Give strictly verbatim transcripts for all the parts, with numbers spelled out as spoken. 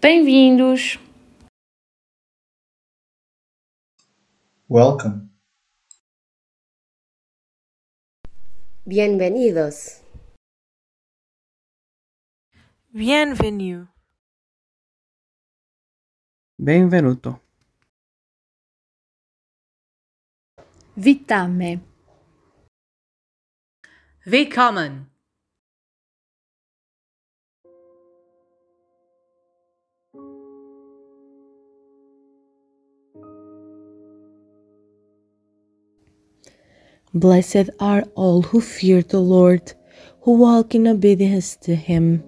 Bem-vindos! Welcome. Bienvenidos. Bienvenue. Benvenuto. Vitame! Willkommen. Blessed are all who fear the Lord, who walk in obedience to Him.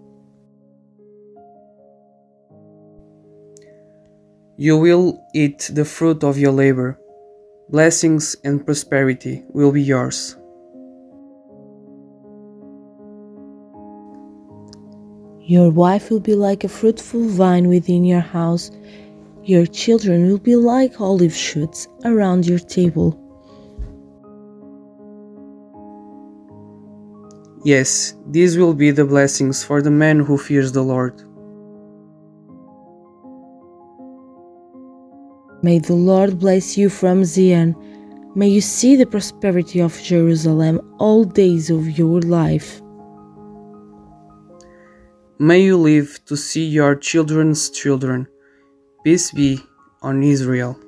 You will eat the fruit of your labor. Blessings and prosperity will be yours. Your wife will be like a fruitful vine within your house. Your children will be like olive shoots around your table. Yes, these will be the blessings for the man who fears the Lord. May the Lord bless you from Zion. May you see the prosperity of Jerusalem all days of your life. May you live to see your children's children. Peace be on Israel.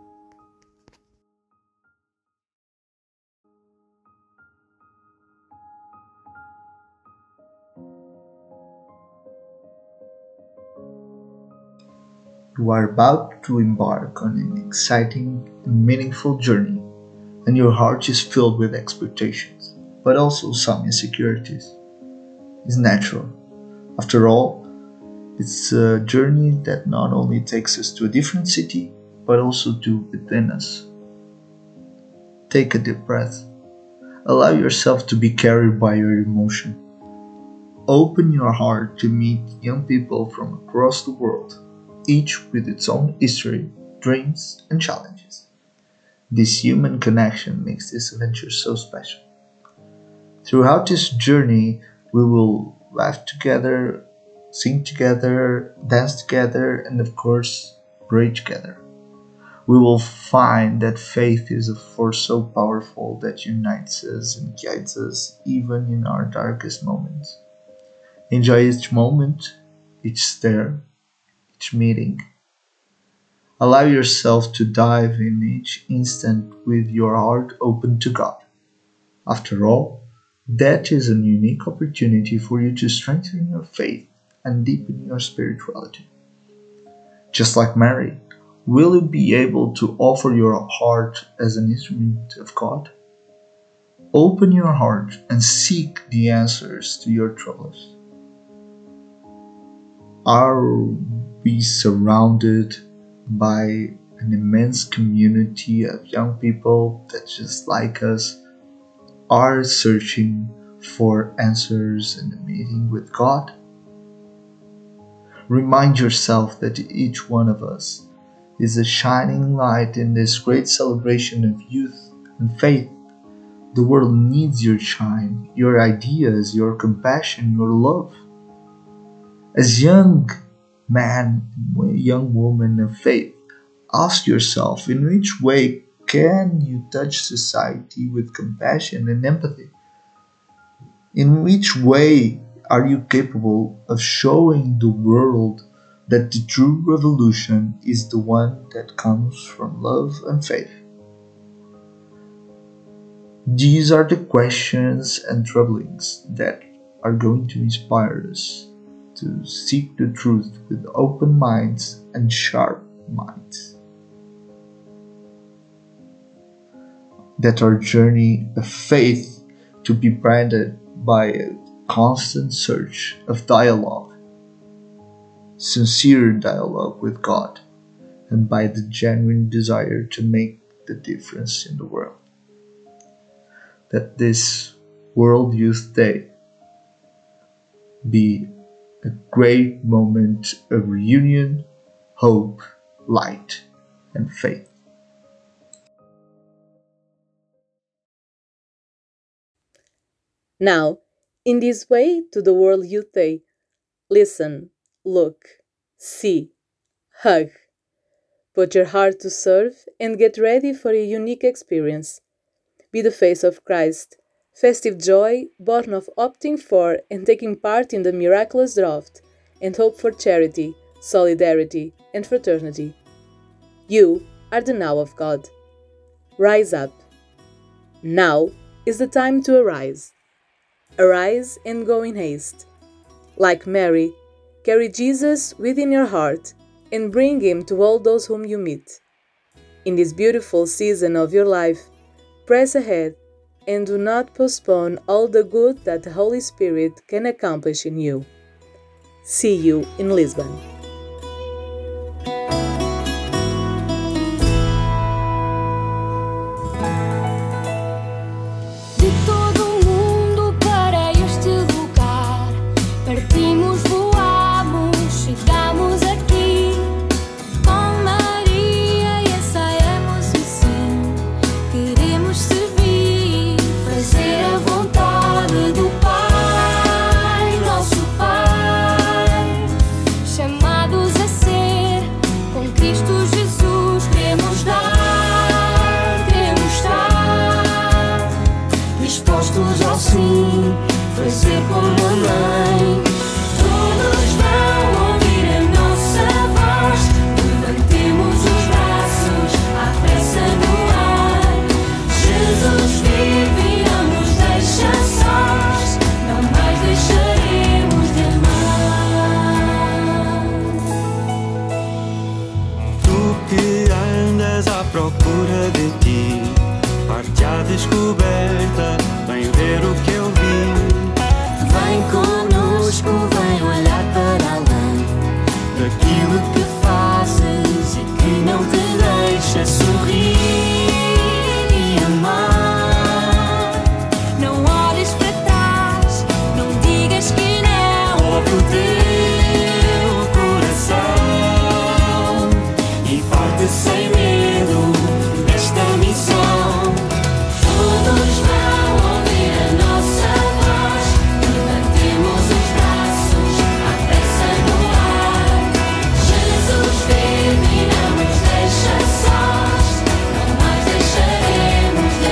You are about to embark on an exciting and meaningful journey, and your heart is filled with expectations, but also some insecurities. It's natural. After all, it's a journey that not only takes us to a different city, but also to within us. Take a deep breath. Allow yourself to be carried by your emotion. Open your heart to meet young people from across the world, each with its own history, dreams, and challenges. This human connection makes this adventure so special. Throughout this journey, we will laugh together, sing together, dance together, and of course, pray together. We will find that faith is a force so powerful that unites us and guides us even in our darkest moments. Enjoy each moment, each stare, each meeting. Allow yourself to dive in each instant with your heart open to God. After all, that is a unique opportunity for you to strengthen your faith and deepen your spirituality. Just like Mary, will you be able to offer your heart as an instrument of God? Open your heart and seek the answers to your troubles. Are we surrounded by an immense community of young people that, just like us, are searching for answers in a meeting with God? Remind yourself that each one of us is a shining light in this great celebration of youth and faith. The world needs your shine, your ideas, your compassion, your love. As young man, young woman of faith, ask yourself, in which way can you touch society with compassion and empathy? In which way are you capable of showing the world that the true revolution is the one that comes from love and faith? These are the questions and troublings that are going to inspire us to seek the truth with open minds and sharp minds. That our journey of faith to be branded by a constant search of dialogue, sincere dialogue with God, and by the genuine desire to make the difference in the world. That this World Youth Day be a great moment of reunion, hope, light, and faith. Now, in this way to the World Youth Day, listen, look, See. Hug. Put your heart to serve and get ready for a unique experience. Be the face of Christ, festive joy born of opting for and taking part in the miraculous draft, and hope for charity, solidarity, and fraternity. You are the now of God. Rise up. Now is the time to arise. Arise and go in haste. Like Mary, carry Jesus within your heart and bring him to all those whom you meet. In this beautiful season of your life, press ahead and do not postpone all the good that the Holy Spirit can accomplish in you. See you in Lisbon. De todo o mundo para este lugar, partimos, voamos, chegamos aqui. Com Maria ensaiamos o sim, queremos servir, fazer a vontade do Pai, nosso Pai. Chamados a ser, com Cristo Jesus queremos dar, queremos estar dispostos ao sim, fazer como a mãe. Todos vão ouvir a nossa voz, levantemos os braços à pressa no ar. Jesus vive e não nos deixa sós, não mais deixaremos de amar. Tu que andas à procura de ti, parte à descoberta, vem ver o que eu vi. Vem conosco, vem olhar para além Daquilo que fazes e que não te deixa sorrir e amar. Não olhes para trás, não digas que não. ouve o teu coração e parte sem medo desta missão. Todos vão ouvir a nossa voz, levantemos os braços à pressa no ar. Jesus vive e não nos deixa sós, não mais deixaremos de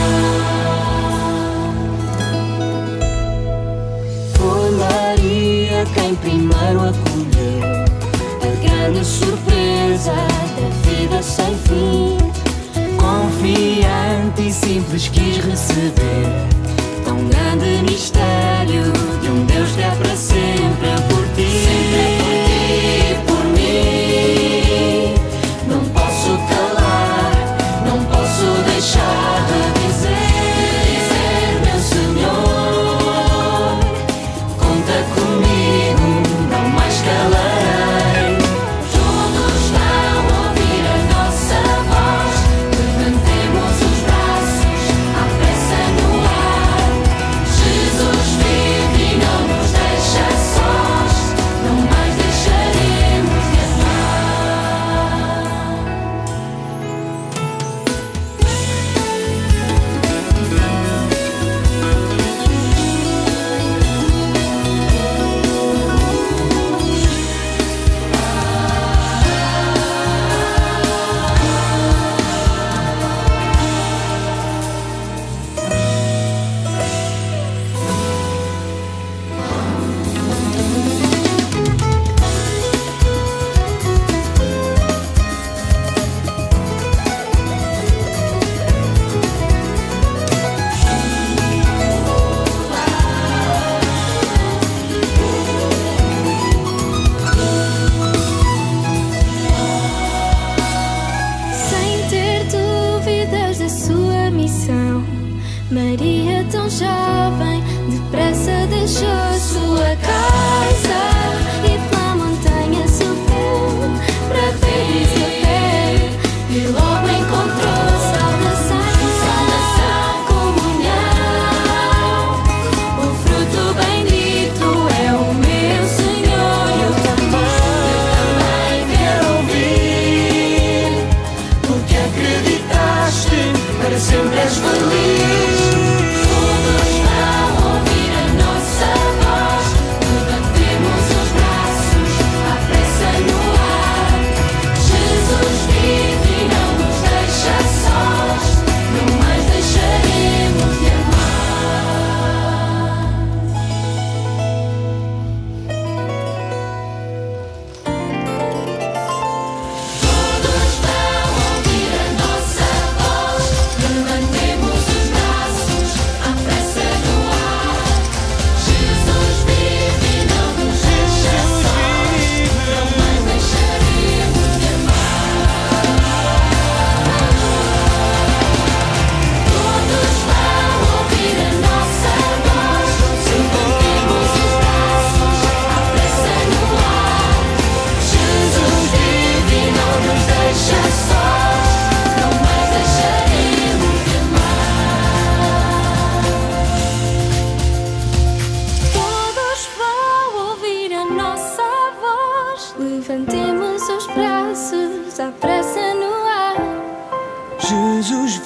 amar. Foi Maria quem primeiro acolheu a grande surpresa da vida sem fim. Confiante e simples quis receber tão grande mistério de um Deus que é para sempre por ti. Sempre por ti, por mim. Não posso calar, não posso deixar de dizer, meu Senhor, conta comigo, não mais calarei. Todos vão ouvir a nossa voz, levantemos os braços à pressa no ar. Jesus vive e não nos deixa sós, não mais deixaremos de amar. Sem ter dúvidas da sua missão, Maria, tão jovem, depressa deixou sua casa e pela montanha subiu para ver Isabel e logo encontrou saudação, saudação, comunhão. O fruto bendito é o meu Senhor. Eu também, eu também quero ouvir, porque acreditaste, para sempre és feliz. Todos vão ouvir a nossa voz, levantemos os braços à pressa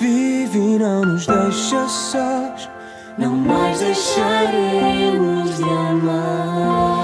vive e não nos deixa sós, não mais deixaremos de amar.